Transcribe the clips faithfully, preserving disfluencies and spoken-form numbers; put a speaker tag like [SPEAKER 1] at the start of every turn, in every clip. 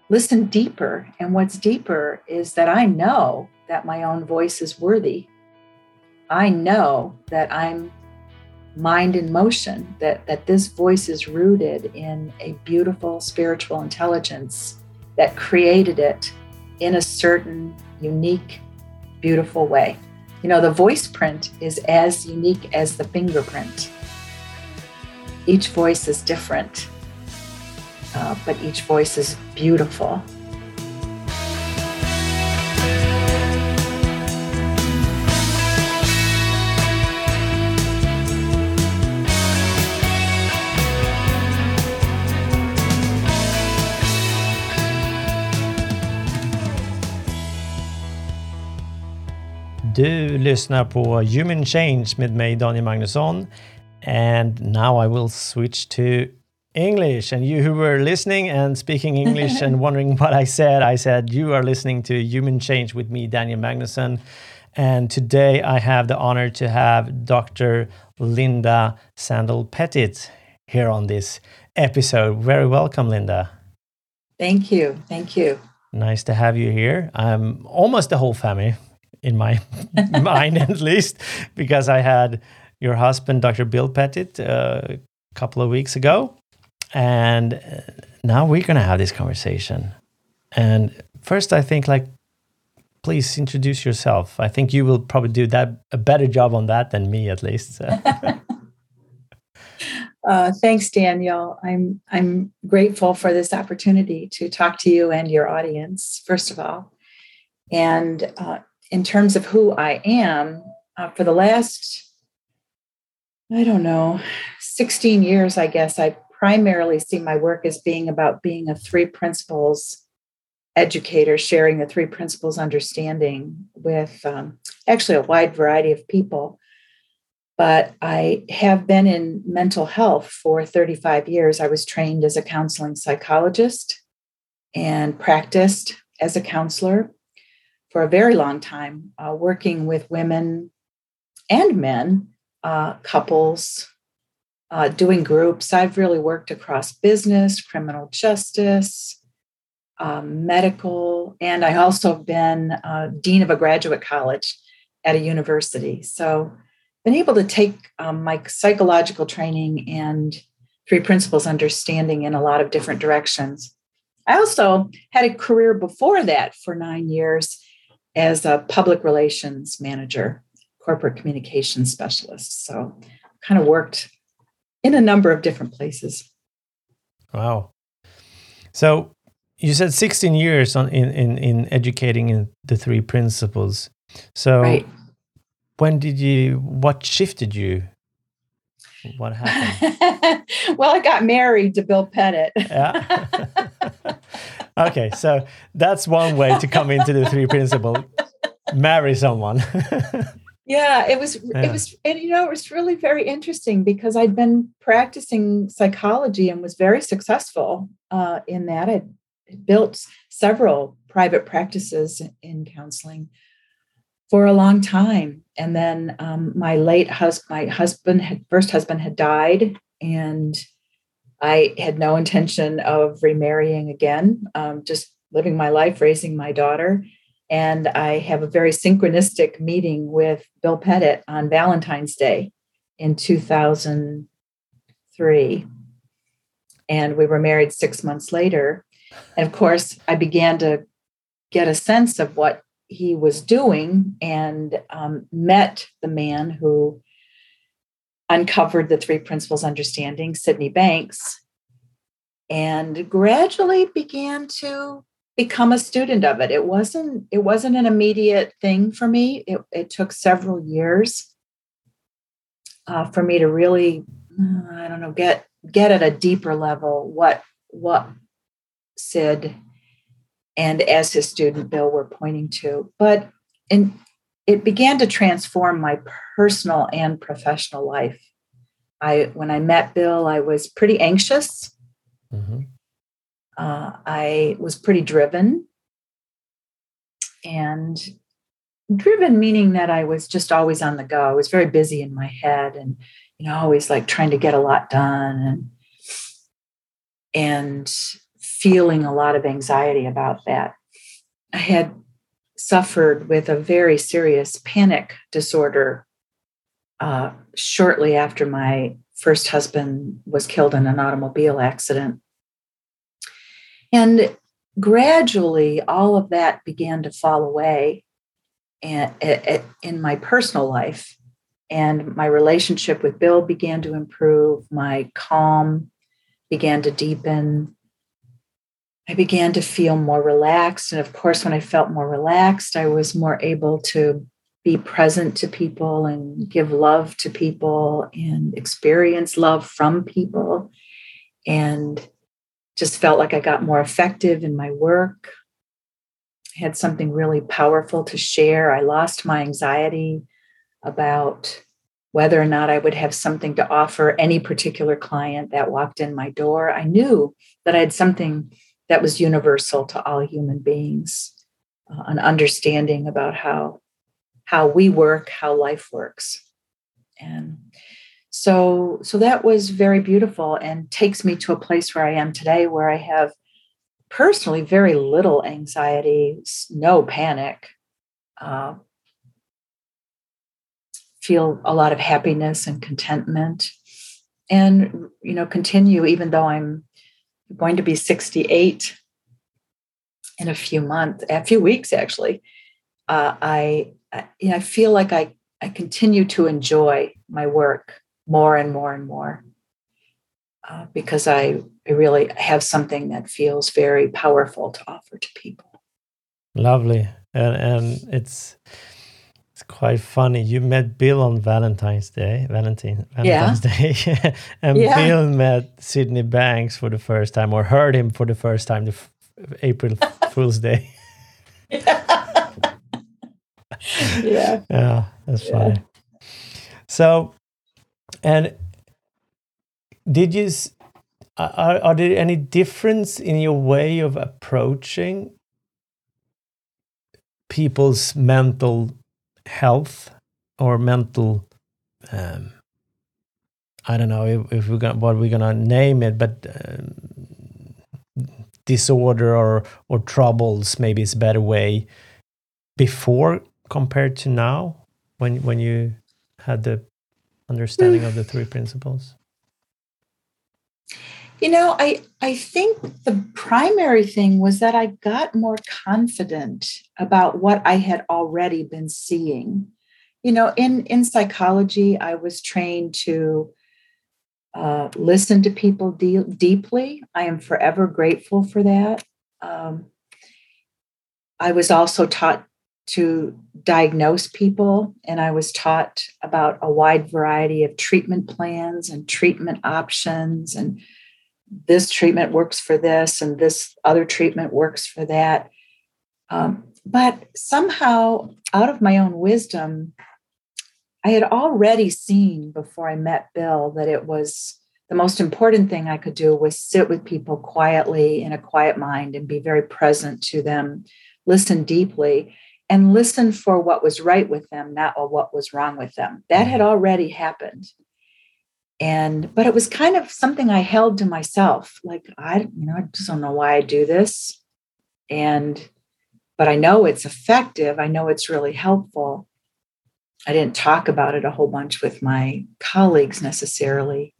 [SPEAKER 1] listen deeper. And what's deeper is that I know that my own voice is worthy. I know that I'm mind in motion, that, that this voice is rooted in a beautiful spiritual intelligence that created it in a certain unique, beautiful way. You know, the voice print is as unique as the fingerprint. Each voice is different, uh, but each voice is beautiful.
[SPEAKER 2] Du lyssnar på Human Change med mig, Daniel Magnusson. And now I will switch to English. And you who were listening and speaking English and wondering what I said, I said you are listening to Human Change with me, Daniel Magnusson. And today I have the honor to have Doctor Linda Sandell-Pettit here on this episode. Very welcome, Linda.
[SPEAKER 1] Thank you. Thank you.
[SPEAKER 2] Nice to have you here. I'm almost the whole family. In my mind, at least, because I had your husband, Doctor Bill Pettit, uh, a couple of weeks ago. And now we're going to have this conversation. And first, I think, like, please introduce yourself. I think you will probably do that a better job on that than me, at least. So.
[SPEAKER 1] uh, thanks, Daniel. I'm I'm grateful for this opportunity to talk to you and your audience, first of all. And uh, in terms of who I am, uh, for the last, I don't know, sixteen years, I guess, I primarily see my work as being about being a three principles educator, sharing the three principles understanding with um, actually a wide variety of people. But I have been in mental health for thirty-five years. I was trained as a counseling psychologist and practiced as a counselor for a very long time, uh, working with women and men, uh, couples, uh, doing groups. I've really worked across business, criminal justice, um, medical, and I also have been uh, dean of a graduate college at a university. So been able to take um, my psychological training and three principles understanding in a lot of different directions. I also had a career before that for nine years as a public relations manager, corporate communications specialist. So kind of worked in a number of different places.
[SPEAKER 2] Wow. So you said sixteen years on in, in, in educating in the three principles. So
[SPEAKER 1] right.
[SPEAKER 2] When did you, what shifted you? What happened?
[SPEAKER 1] Well, I got married to Bill Pettit.
[SPEAKER 2] Yeah. Okay, so that's one way to come into the three principles. Marry someone.
[SPEAKER 1] Yeah, it was,
[SPEAKER 2] Yeah.
[SPEAKER 1] it was, and you know, it was really very interesting because I'd been practicing psychology and was very successful uh, in that. I built several private practices in counseling for a long time. And then um, my late husband, my husband had, first husband had died, and I had no intention of remarrying again, um, just living my life, raising my daughter. And I have a very synchronistic meeting with Bill Pettit on Valentine's Day in two thousand three. And we were married six months later. And of course, I began to get a sense of what he was doing and um, met the man who uncovered the three principles understanding, Sydney Banks, and gradually began to become a student of it. It wasn't, it wasn't an immediate thing for me. It, it took several years uh, for me to really, I don't know, get, get at a deeper level what, what Sid and as his student Bill were pointing to. But in, it began to transform my personal and professional life. I, when I met Bill, I was pretty anxious.
[SPEAKER 2] Mm-hmm.
[SPEAKER 1] Uh, I was pretty driven, and driven meaning that I was just always on the go. I was very busy in my head, and you know, always like trying to get a lot done, and and feeling a lot of anxiety about that. I had suffered with a very serious panic disorder uh, shortly after my first husband was killed in an automobile accident. And gradually, all of that began to fall away and, and, in my personal life. And my relationship with Bill began to improve. My calm began to deepen. I began to feel more relaxed. And of course, when I felt more relaxed, I was more able to be present to people and give love to people and experience love from people. And just felt like I got more effective in my work. I had something really powerful to share. I lost my anxiety about whether or not I would have something to offer any particular client that walked in my door. I knew that I had something that was universal to all human beings, uh, an understanding about how, how we work, how life works. And so, so that was very beautiful and takes me to a place where I am today, where I have personally very little anxiety, no panic, uh, feel a lot of happiness and contentment, and, you know, continue, even though I'm going to be sixty-eight in a few months, a few weeks, actually. Uh, I, I, you know, I feel like I, I continue to enjoy my work more and more and more uh, because I, I really have something that feels very powerful to offer to people.
[SPEAKER 2] Lovely. And, and it's, it's quite funny. You met Bill on Valentine's Day, Valentine, Valentine's yeah. Day, and yeah. Bill met Sydney Banks for the first time, or heard him for the first time, the f- April Fool's Day.
[SPEAKER 1] yeah. yeah.
[SPEAKER 2] Yeah, that's yeah. funny. So, and did you, are, are there any difference in your way of approaching people's mental health or mental, um, I don't know if, if we're gonna, what we're gonna name it, but um, disorder or or troubles, maybe is a better way, before compared to now, when when you had the understanding of the three principles?
[SPEAKER 1] You know, I, I think the primary thing was that I got more confident about what I had already been seeing. You know, in, in psychology, I was trained to uh, listen to people de- deeply. I am forever grateful for that. Um, I was also taught to diagnose people, and I was taught about a wide variety of treatment plans and treatment options, and this treatment works for this and this other treatment works for that. Um, but somehow, out of my own wisdom, I had already seen before I met Bill that it was the most important thing I could do was sit with people quietly in a quiet mind and be very present to them, listen deeply, and listen for what was right with them, not what was wrong with them. That had already happened. And, but it was kind of something I held to myself. Like, I, you know, I just don't know why I do this. And, but I know it's effective. I know it's really helpful. I didn't talk about it a whole bunch with my colleagues necessarily.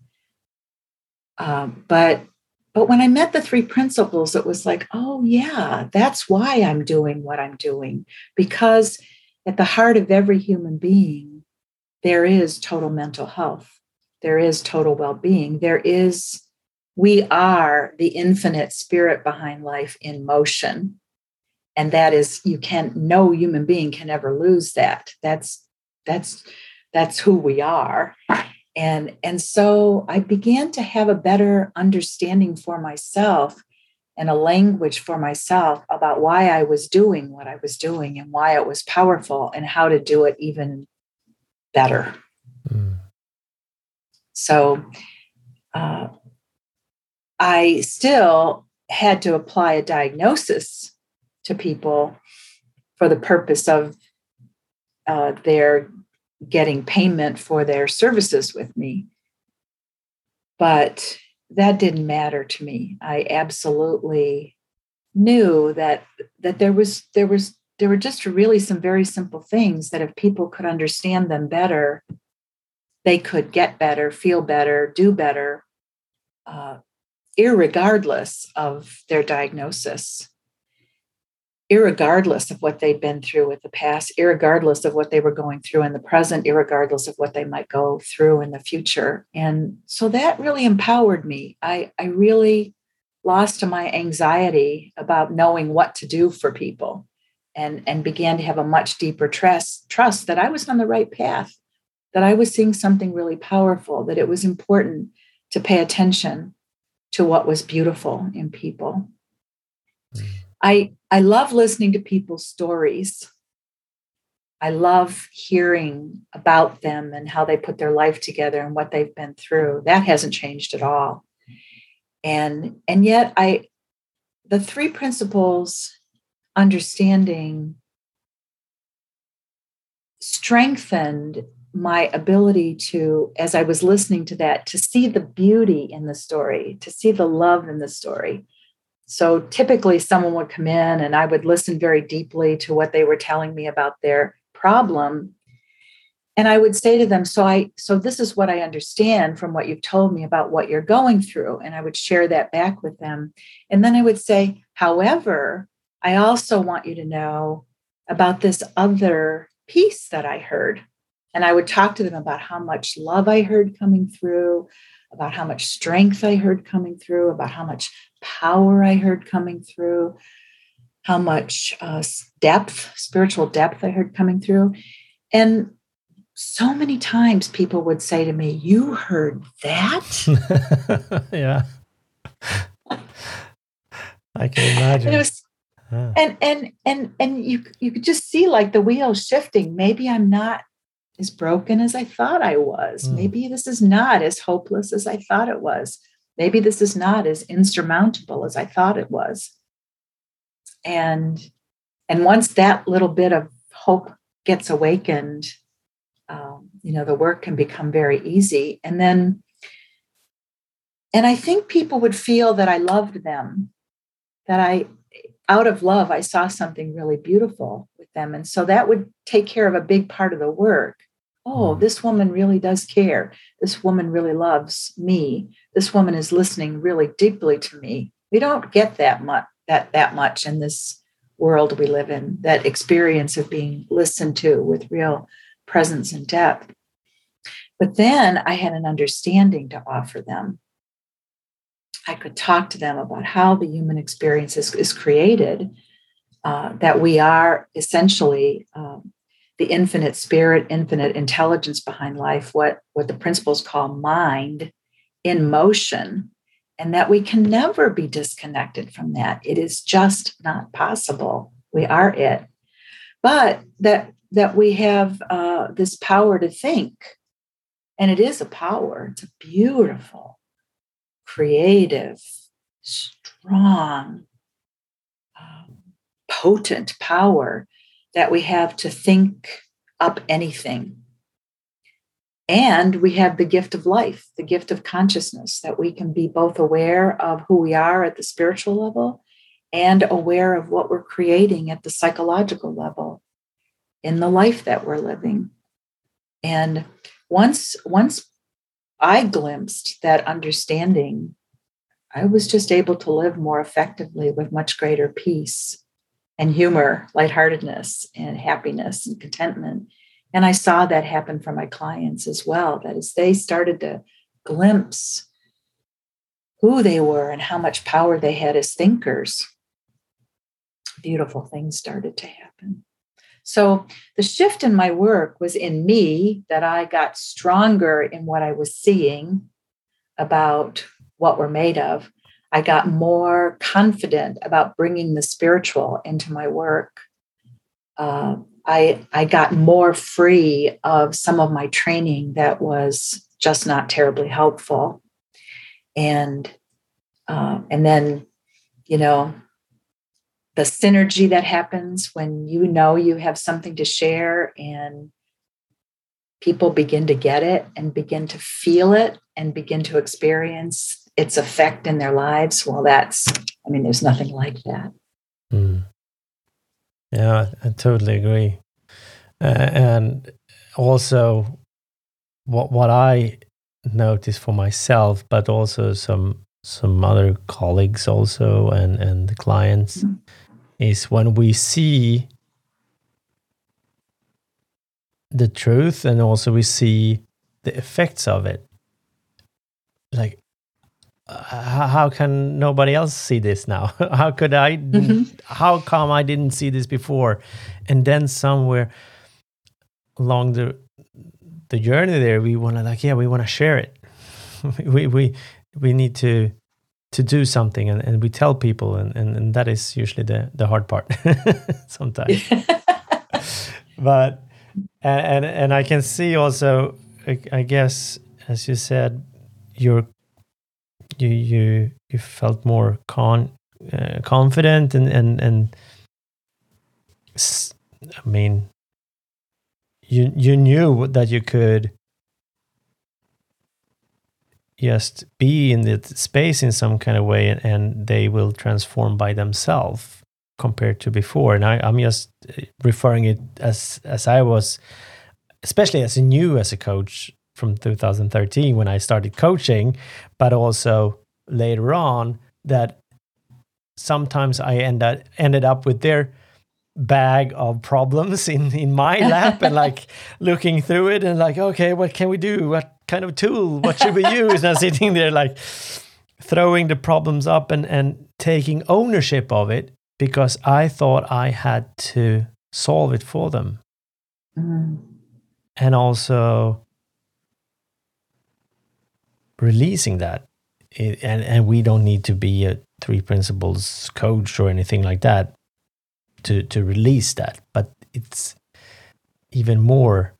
[SPEAKER 1] Um, but, but when I met the three principles, it was like, oh yeah, that's why I'm doing what I'm doing. Because at the heart of every human being, there is total mental health. There is total well-being. There is, we are the infinite spirit behind life in motion. And that is, you can't, no human being can ever lose that. That's, that's, that's who we are. And, and so I began to have a better understanding for myself and a language for myself about why I was doing what I was doing and why it was powerful and how to do it even better. Mm. So uh, I still had to apply a diagnosis to people for the purpose of uh, their getting payment for their services with me. But that didn't matter to me. I absolutely knew that that there was there was there were just really some very simple things that if people could understand them better, they could get better, feel better, do better, uh, irregardless of their diagnosis, irregardless of what they'd been through with the past, irregardless of what they were going through in the present, irregardless of what they might go through in the future. And so that really empowered me. I, I really lost my anxiety about knowing what to do for people, and, and began to have a much deeper trust, trust that I was on the right path, that I was seeing something really powerful, that it was important to pay attention to what was beautiful in people. I, I love listening to people's stories. I love hearing about them and how they put their life together and what they've been through. That hasn't changed at all. And, and yet I, the three principles understanding strengthened my ability to, as I was listening to that, to see the beauty in the story, to see the love in the story. So typically someone would come in and I would listen very deeply to what they were telling me about their problem. And I would say to them, so I, so this is what I understand from what you've told me about what you're going through. And I would share that back with them. And then I would say, however, I also want you to know about this other piece that I heard. And I would talk to them about how much love I heard coming through, about how much strength I heard coming through, about how much power I heard coming through, how much uh, depth, spiritual depth I heard coming through. And so many times people would say to me, "You heard that?"
[SPEAKER 2] Yeah. I can imagine.
[SPEAKER 1] And it was,
[SPEAKER 2] ah.
[SPEAKER 1] and and and and you you could just see like the wheels shifting. Maybe I'm not as broken as I thought I was. Mm. Maybe this is not as hopeless as I thought it was. Maybe this is not as insurmountable as I thought it was. And and once that little bit of hope gets awakened, um, you know, the work can become very easy. And then, and I think people would feel that I loved them, that I, out of love, I saw something really beautiful with them. And so that would take care of a big part of the work. Oh, this woman really does care. This woman really loves me. This woman is listening really deeply to me. We don't get that much, that, that much in this world we live in, that experience of being listened to with real presence and depth. But then I had an understanding to offer them. I could talk to them about how the human experience is, is created, uh, that we are essentially um, the infinite spirit, infinite intelligence behind life, what, what the principles call mind in motion, and that we can never be disconnected from that. It is just not possible. We are it. But that that we have uh, this power to think. And it is a power. It's a beautiful, creative, strong, um, potent power that we have to think up anything. And we have the gift of life, the gift of consciousness, that we can be both aware of who we are at the spiritual level and aware of what we're creating at the psychological level in the life that we're living. And once, once I glimpsed that understanding, I was just able to live more effectively with much greater peace and humor, lightheartedness and happiness and contentment. And I saw that happen for my clients as well, that as they started to glimpse who they were and how much power they had as thinkers, beautiful things started to happen. So the shift in my work was in me, that I got stronger in what I was seeing about what we're made of. I got more confident about bringing the spiritual into my work. Uh, I, I got more free of some of my training that was just not terribly helpful. And, uh, and then, you know, the synergy that happens when you know you have something to share and people begin to get it and begin to feel it and begin to experience its effect in their lives, well, that's, I mean, there's nothing like that.
[SPEAKER 2] Mm. Yeah, I totally agree. Uh, and also, what what I notice for myself, but also some some other colleagues also, and and the clients, mm-hmm. is when we see the truth, and also we see the effects of it. Like, uh, how can nobody else see this now? How could I? Mm-hmm. How come I didn't see this before? And then somewhere along the the journey there, we want to like, yeah, we want to share it. we we we need to to do something, and, and we tell people, and, and, and that is usually the, the hard part sometimes. But and, and and I can see also, I, I guess, as you said, you're you you you felt more con uh, confident, and and and I mean, you you knew that you could just be in the space in some kind of way, and, and they will transform by themselves compared to before. And I, I'm just referring it as as I was, especially as a new as a coach from two thousand thirteen when I started coaching, but also later on that sometimes I end up, ended up with their bag of problems in in my lap, and like looking through it and like, okay, what can we do? What kind of tool? What should we use? And sitting there like throwing the problems up, and and taking ownership of it, because I thought I had to solve it for them. Mm. And also releasing that. It, and and we don't need to be a three principles coach or anything like that to to release that, but it's even more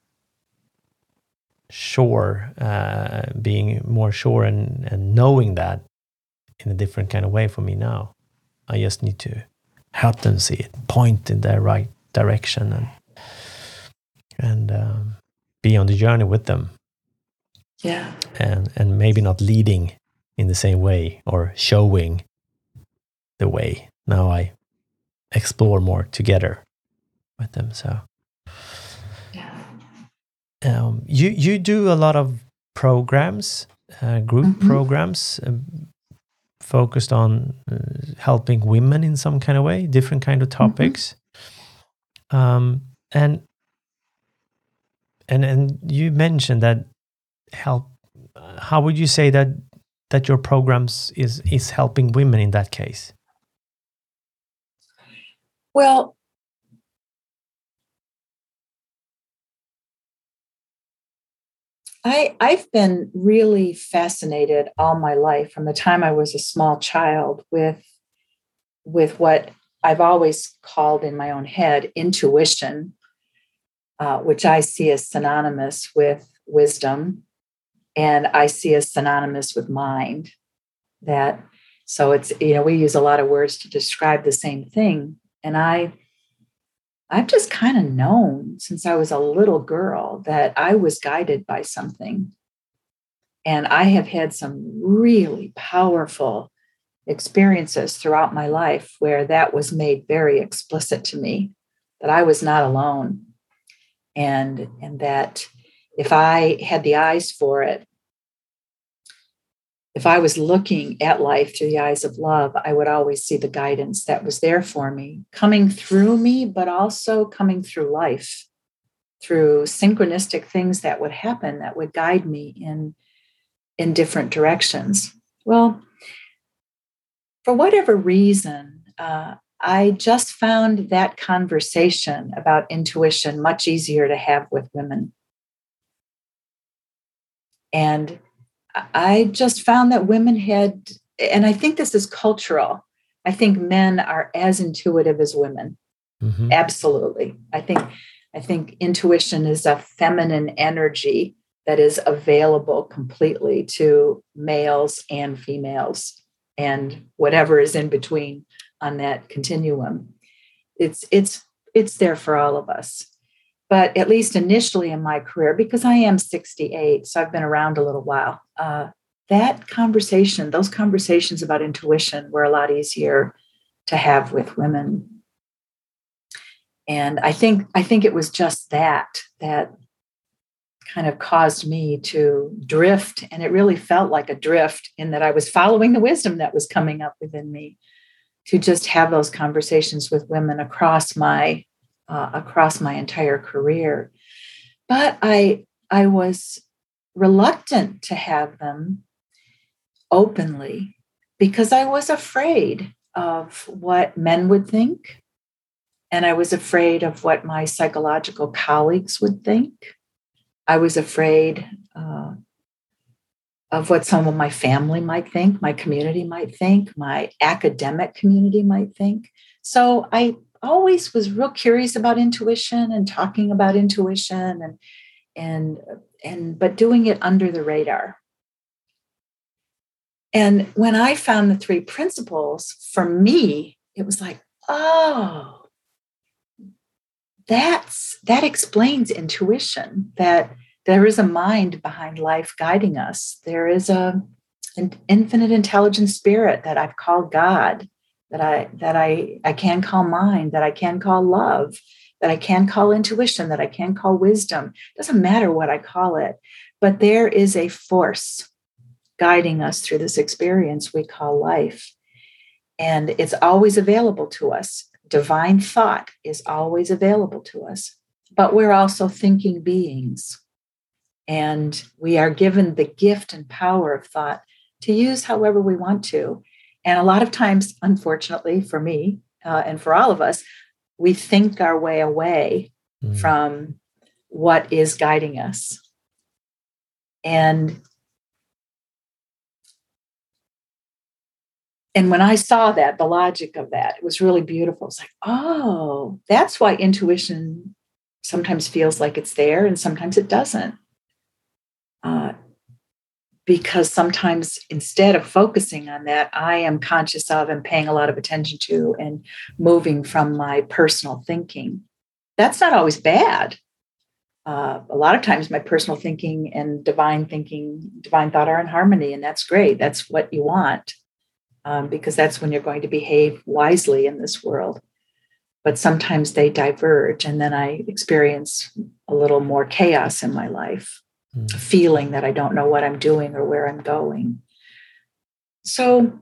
[SPEAKER 2] sure, uh, being more sure, and, and knowing that in a different kind of way for me now. I just need to help them see it, point in the right direction, and and um, be on the journey with them.
[SPEAKER 1] Yeah,
[SPEAKER 2] and and maybe not leading in the same way or showing the way. Now I explore more together with them. So
[SPEAKER 1] yeah.
[SPEAKER 2] Um, you you do a lot of programs, uh, group mm-hmm. programs, uh, focused on uh, helping women in some kind of way, different kind of topics. Mm-hmm. Um, and and and you mentioned that help. How would you say that that your programs is is helping women in that case?
[SPEAKER 1] Well, I, I've been really fascinated all my life, from the time I was a small child, with, with what I've always called in my own head intuition, uh, which I see as synonymous with wisdom, and I see as synonymous with mind. That so it's, you know, we use a lot of words to describe the same thing, and I. I've just kind of known since I was a little girl that I was guided by something. And I have had some really powerful experiences throughout my life where that was made very explicit to me, that I was not alone. And, and that if I had the eyes for it, if I was looking at life through the eyes of love, I would always see the guidance that was there for me, coming through me, but also coming through life, through synchronistic things that would happen that would guide me in, in different directions. Well, for whatever reason, uh, I just found that conversation about intuition much easier to have with women. And I just found that women had, and I think this is cultural, I think men are as intuitive as women. Mm-hmm. Absolutely. I think, I think intuition is a feminine energy that is available completely to males and females and whatever is in between on that continuum. It's, it's, it's there for all of us. But at least initially in my career, because I am sixty-eight, so I've been around a little while, uh, that conversation, those conversations about intuition were a lot easier to have with women. And I think I think it was just that that kind of caused me to drift. And it really felt like a drift in that I was following the wisdom that was coming up within me to just have those conversations with women across my uh, across my entire career. But I I was reluctant to have them openly because I was afraid of what men would think. And I was afraid of what my psychological colleagues would think. I was afraid uh, of what some of my family might think, my community might think, my academic community might think. So I always was real curious about intuition and talking about intuition and and and but doing it under the radar. And when I found the three principles, for me, it was like, oh, that's that explains intuition, that there is a mind behind life guiding us. There is a an infinite intelligent spirit that I've called God, that I that I, I can call mind, that I can call love, that I can call intuition, that I can call wisdom. Doesn't matter what I call it, but there is a force guiding us through this experience we call life. And it's always available to us. Divine thought is always available to us, but we're also thinking beings. And we are given the gift and power of thought to use however we want to. And a lot of times, unfortunately for me uh, and for all of us, we think our way away mm. from what is guiding us. And And when I saw that, the logic of that, it was really beautiful. It's like, oh, that's why intuition sometimes feels like it's there and sometimes it doesn't. Uh, because sometimes instead of focusing on that, I am conscious of and paying a lot of attention to and moving from my personal thinking. That's not always bad. Uh, a lot of times my personal thinking and divine thinking, divine thought are in harmony, and that's great. That's what you want. Um, because that's when you're going to behave wisely in this world. But sometimes they diverge, and then I experience a little more chaos in my life, mm. feeling that I don't know what I'm doing or where I'm going. So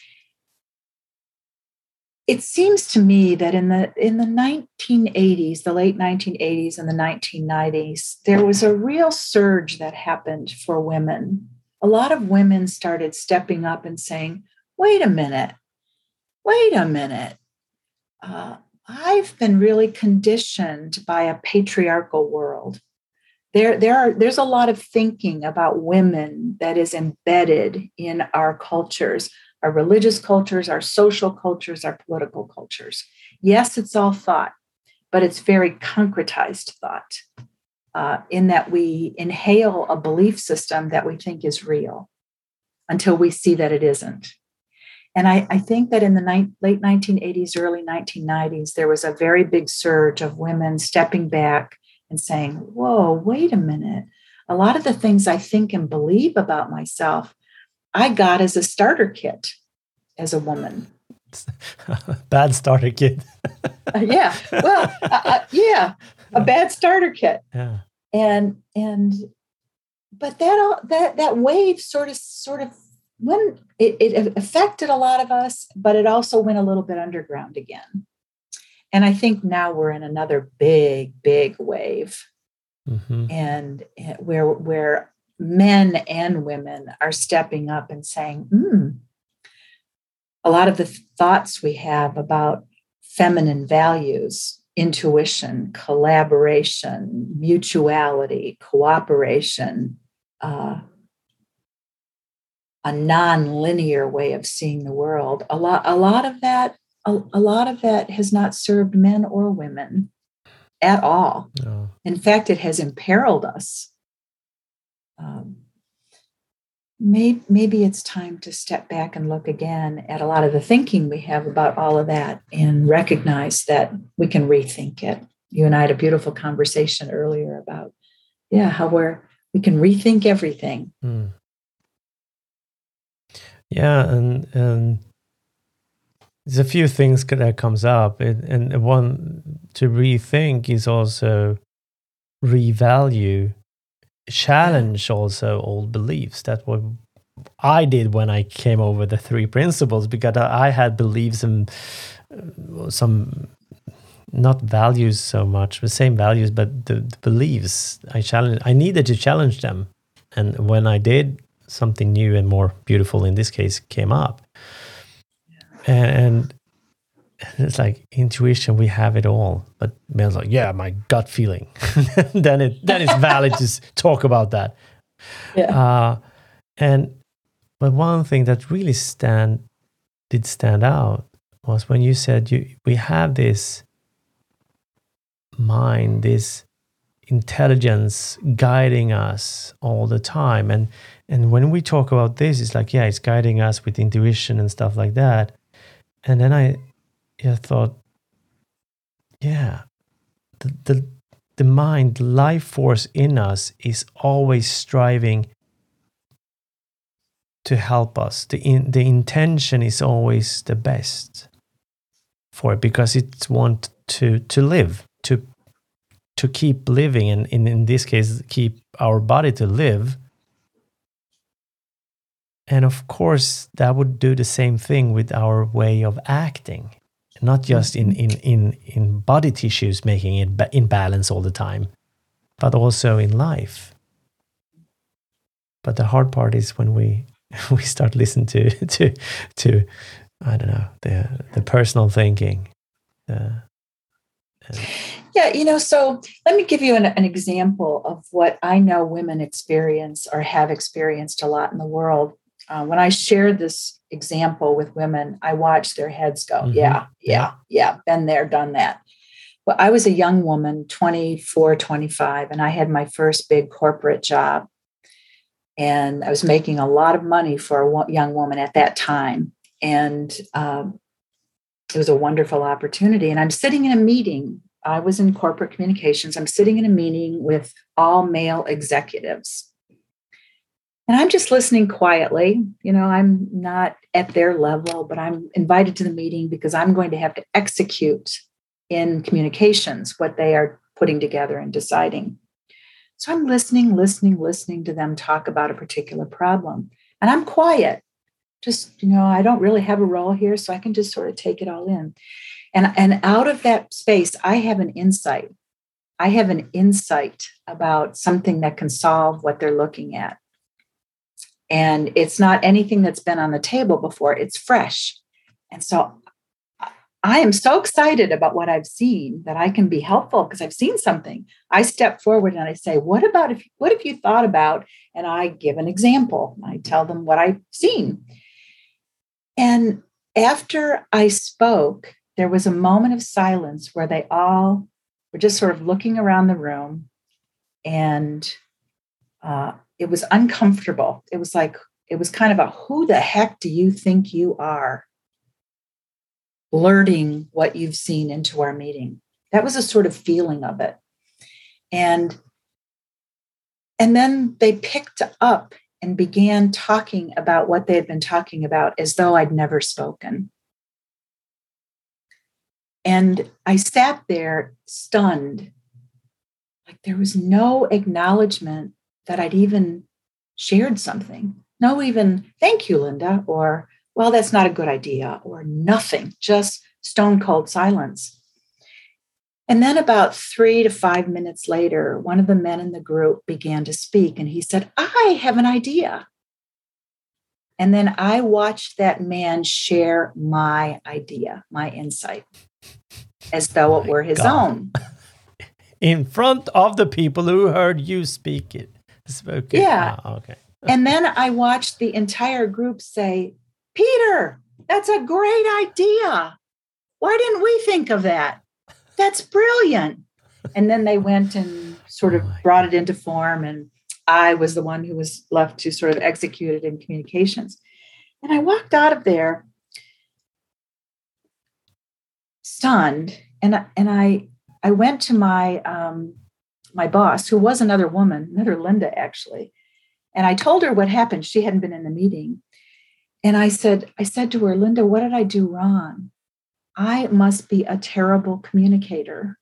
[SPEAKER 1] it seems to me that in the in the nineteen eighties, the late nineteen eighties and the nineteen nineties, there was a real surge that happened for women. A lot of women started stepping up and saying, wait a minute, wait a minute. Uh, I've been really conditioned by a patriarchal world. There, there are, there's a lot of thinking about women that is embedded in our cultures, our religious cultures, our social cultures, our political cultures. Yes, it's all thought, but it's very concretized thought uh, in that we inhale a belief system that we think is real until we see that it isn't. And I, I think that in the ni- late nineteen eighties, early nineteen nineties, there was a very big surge of women stepping back and saying, whoa, wait a minute. A lot of the things I think and believe about myself, I got as a starter kit as a woman.
[SPEAKER 2] Bad starter kit.
[SPEAKER 1] uh, yeah, well, uh, uh, yeah, a bad starter kit.
[SPEAKER 2] Yeah.
[SPEAKER 1] And, and, but that, that, that wave sort of, sort of, when it, it affected a lot of us, but it also went a little bit underground again. And I think now we're in another big, big wave, mm-hmm. and where where men and women are stepping up and saying, mm, a lot of the thoughts we have about feminine values, intuition, collaboration, mutuality, cooperation, uh, a non-linear way of seeing the world. A lot, a lot of that, a, a lot of that has not served men or women at all. No. In fact, it has imperiled us. Um, maybe, maybe it's time to step back and look again at a lot of the thinking we have about all of that and recognize that we can rethink it. You and I had a beautiful conversation earlier about, yeah, how we're, we can rethink everything. Mm.
[SPEAKER 2] Yeah, and and there's a few things that comes up, and, and one to rethink is also revalue,
[SPEAKER 1] Yeah.
[SPEAKER 2] challenge also old beliefs. That's what I did when I came over the three principles, because I I had beliefs and uh, some not values so much, the same values, but the, the beliefs I challenge. I needed to challenge them, and when I did, something new and more beautiful in this case came up, and it's like intuition, we have it all, but Mel's like, yeah, my gut feeling. then it then it's valid to s- talk about that.
[SPEAKER 1] Yeah.
[SPEAKER 2] Uh, and but one thing that really stand did stand out was when you said you we have this mind, this intelligence guiding us all the time, and and when we talk about this, it's like, yeah, it's guiding us with intuition and stuff like that. And then I, yeah, thought, yeah, the, the the mind, the life force in us is always striving to help us. The in, the intention is always the best for it, because it wants to to live, to to keep living, and in, in this case, keep our body to live. And of course, that would do the same thing with our way of acting, not just in
[SPEAKER 1] Mhm.
[SPEAKER 2] in in, in body tissues making it ba- in balance all the time, but also in life. But the hard part is when we we start listening to to to I don't know, the the personal thinking. Uh, and
[SPEAKER 1] Yeah, you know, so let me give you an, an example of what I know women experience or have experienced a lot in the world. Uh, when I share this example with women, I watch their heads go,
[SPEAKER 2] mhm,
[SPEAKER 1] yeah,
[SPEAKER 2] yeah.
[SPEAKER 1] yeah, yeah, been there, done that. Well, I was a young woman, twenty-four, twenty-five, and I had my first big corporate job. And I was making a lot of money for a young woman at that time. And um, it was a wonderful opportunity. And I'm sitting in a meeting. I was in corporate communications. I'm sitting in a meeting with all male executives. And I'm just listening quietly. You know, I'm not at their level, but I'm invited to the meeting because I'm going to have to execute in communications what they are putting together and deciding. So I'm listening, listening, listening to them talk about a particular problem. And I'm quiet. Just, you know, I don't really have a role here, so I can just sort of take it all in. And, and out of that space, I have an insight. I have an insight about something that can solve what they're looking at. And it's not anything that's been on the table before, it's fresh. And so I am so excited about what I've seen that I can be helpful because I've seen something. I step forward and I say, what about if, what have you thought about? And I give an example. I tell them what I've seen. And after I spoke, there was a moment of silence where they all were just sort of looking around the room, and uh, it was uncomfortable. It was like, it was kind of a, who the heck do you think you are, blurting what you've seen into our meeting? That was a sort of feeling of it. And, and then they picked up and began talking about what they had been talking about as though I'd never spoken. And I sat there stunned, like there was no acknowledgement that I'd even shared something. No, even thank you, Linda, or well, that's not a good idea, or nothing, just stone cold silence. And then about three to five minutes later, one of the men in the group began to speak, and he said, I have an idea. And then I watched that man share my idea, my insight, as though it
[SPEAKER 2] My
[SPEAKER 1] were his
[SPEAKER 2] God.
[SPEAKER 1] own.
[SPEAKER 2] In front of the people who heard you speak it. Spoke it.
[SPEAKER 1] Yeah.
[SPEAKER 2] Ah, okay.
[SPEAKER 1] And then I watched the entire group say, Peter, that's a great idea. Why didn't we think of that? That's brilliant. And then they went and sort
[SPEAKER 2] Oh
[SPEAKER 1] of
[SPEAKER 2] my
[SPEAKER 1] brought
[SPEAKER 2] God.
[SPEAKER 1] it into form. And I was the one who was left to sort of execute it in communications. And I walked out of there stunned. And, and I, I went to my, um, my boss, who was another woman, another Linda, actually. And I told her what happened. She hadn't been in the meeting. And I said, I said to her, Linda, what did I do wrong? I must be a terrible communicator.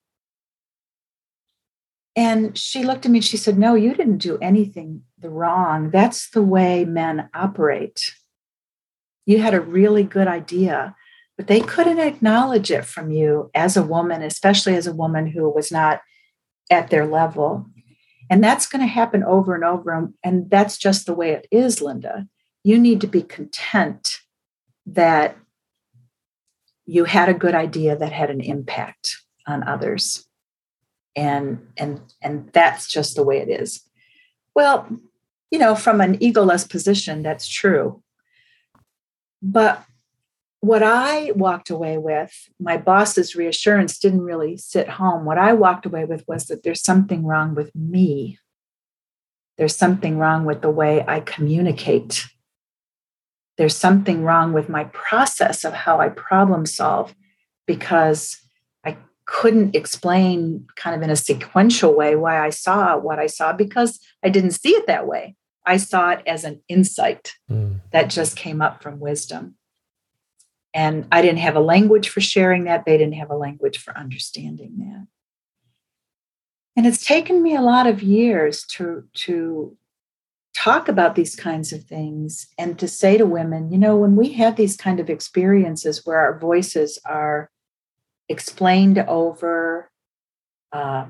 [SPEAKER 1] And she looked at me and she said, no, you didn't do anything wrong. That's the way men operate. You had a really good idea, but they couldn't acknowledge it from you as a woman, especially as a woman who was not at their level. And that's going to happen over and over. And that's just the way it is, Linda. You need to be content that you had a good idea that had an impact on others. And, and, and that's just the way it is. Well, you know, from an egoless position, that's true. But what I walked away with, my boss's reassurance didn't really sit home. What I walked away with was that there's something wrong with me. There's something wrong with the way I communicate. There's something wrong with my process of how I problem solve, because I couldn't explain kind of in a sequential way why I saw what I saw, because I didn't see it that way. I saw it as an insight mm. that just came up from wisdom. And I didn't have a language for sharing that. They didn't have a language for understanding that. And it's taken me a lot of years to, to talk about these kinds of things and to say to women, you know, when we have these kind of experiences where our voices are explained over, uh,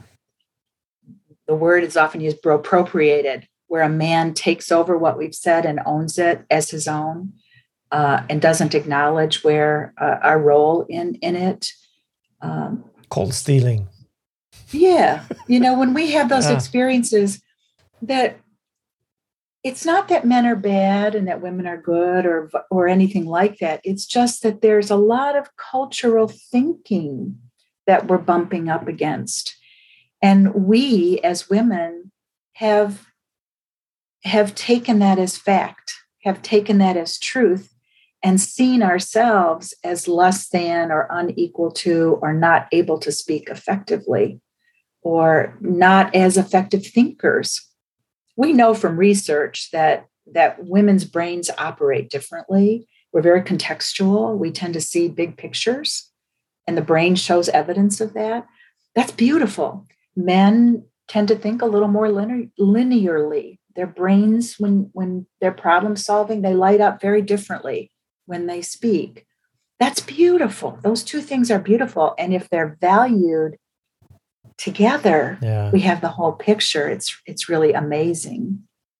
[SPEAKER 1] the word is often used, appropriated, where a man takes over what we've said and owns it as his own, uh, and doesn't acknowledge where uh, our role in, in it. Um,
[SPEAKER 2] Cold stealing.
[SPEAKER 1] Yeah. You know, when we have those
[SPEAKER 2] yeah.
[SPEAKER 1] experiences, that it's not that men are bad and that women are good or, or anything like that. It's just that there's a lot of cultural thinking that we're bumping up against. And we as women have, have taken that as fact, have taken that as truth, and seen ourselves as less than or unequal to or not able to speak effectively or not as effective thinkers. We know from research that, that women's brains operate differently. We're very contextual. We tend to see big pictures, and the brain shows evidence of that. That's beautiful. Men tend to think a little more linear, linearly. Their brains, when, when they're problem solving, they light up very differently when they speak. That's beautiful. Those two things are beautiful. And if they're valued together, yeah. we have the whole picture. It's, it's really amazing.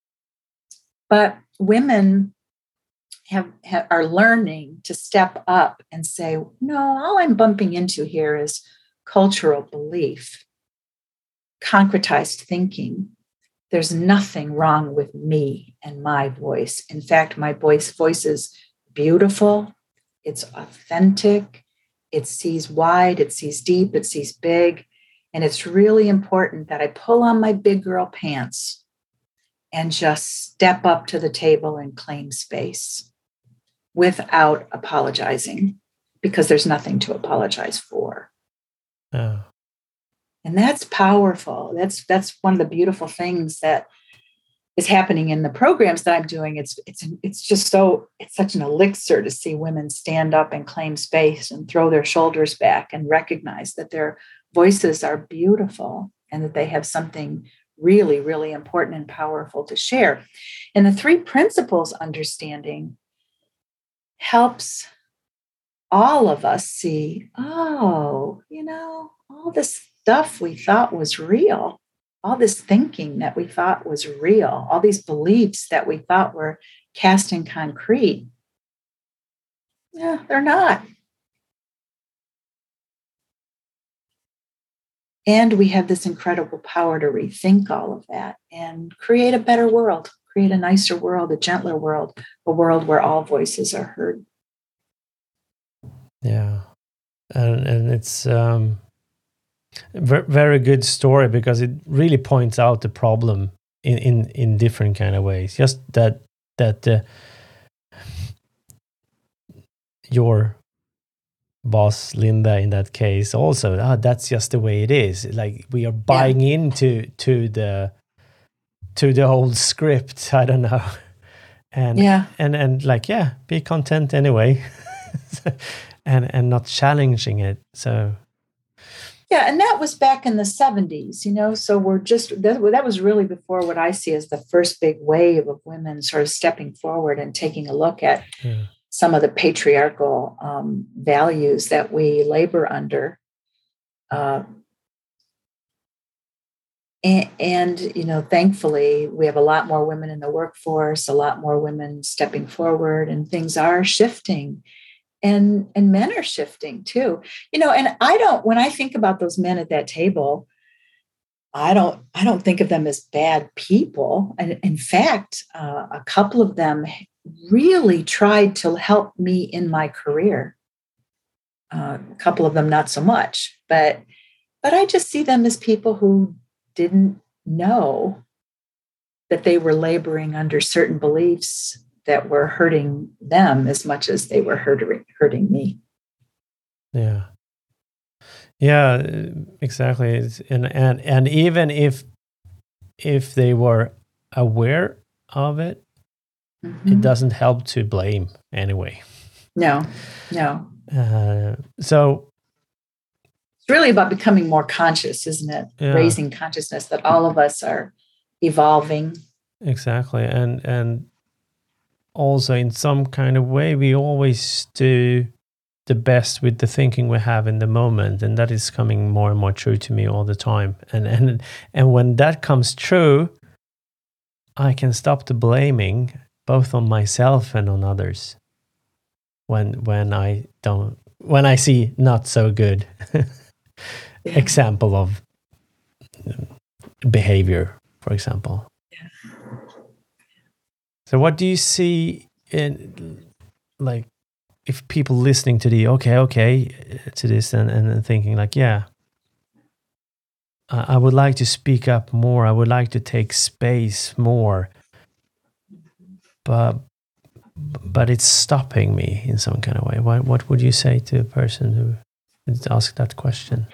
[SPEAKER 1] But women have, have are learning to step up and say, no, all I'm bumping into here is cultural belief, concretized thinking. There's nothing wrong with me and my voice. In fact, my voice voice is beautiful. It's authentic. It sees wide. It sees deep. It sees big. And it's really important that I pull on my big girl pants and just step up to the table and claim space without apologizing, because there's nothing to apologize for.
[SPEAKER 2] Oh.
[SPEAKER 1] And that's powerful. That's that's one of the beautiful things that is happening in the programs that I'm doing. It's it's it's just so it's such an elixir to see women stand up and claim space and throw their shoulders back and recognize that their voices are beautiful and that they have something really, really important and powerful to share. And the three principles understanding helps all of us see, oh, you know, all this stuff we thought was real, all this thinking that we thought was real, all these beliefs that we thought were cast in concrete, yeah, they're not. And we have this incredible power to rethink all of that and create a better world, create a nicer world, a gentler world, a world where all voices are heard.
[SPEAKER 2] Yeah. And, and it's um, a very good story, because it really points out the problem in, in, in different kind of ways. Just that, that uh, your boss Linda in that case also, ah, that's just the way it is. Like we are buying yeah. into to the to the old script. I don't know, and
[SPEAKER 1] Yeah.
[SPEAKER 2] and and like, yeah, be content anyway, and and not challenging it. So
[SPEAKER 1] Yeah, and that was back in the seventies, you know, so we're just, that, that was really before what I see as the first big wave of women sort of stepping forward and taking a look at
[SPEAKER 2] yeah,
[SPEAKER 1] some of the patriarchal um, values that we labor under. Uh, and, and, you know, thankfully, we have a lot more women in the workforce, a lot more women stepping forward, and things are shifting. And, and men are shifting too, you know, and I don't, when I think about those men at that table, I don't, I don't think of them as bad people. And in fact, uh, a couple of them really tried to help me in my career. Uh, a couple of them, not so much, but, but I just see them as people who didn't know that they were laboring under certain beliefs that were hurting them as much as they were hurting, hurting me.
[SPEAKER 2] yeah, yeah, uh, exactly. It's- And and and even if if they were aware of it, it
[SPEAKER 1] Mm-hmm.
[SPEAKER 2] doesn't help to blame anyway.
[SPEAKER 1] No, no.
[SPEAKER 2] Uh, so
[SPEAKER 1] It's really about becoming more conscious, isn't it?
[SPEAKER 2] yeah,
[SPEAKER 1] Raising consciousness that all of us are evolving.
[SPEAKER 2] exactly. And and also in some kind of way, we always do the best with the thinking we have in the moment, and that is coming more and more true to me all the time. And and and when that comes true, I can stop the blaming both on myself and on others. When when I don't, when I see not so good
[SPEAKER 1] Yeah.
[SPEAKER 2] example of behavior, for example. So what do you see in, like, if people listening to the okay, okay, to this, and, and thinking like, yeah, I I would like to speak up more. I would like to take space more, but but it's stopping me in some kind of way. What what would you say to a person who would ask that question?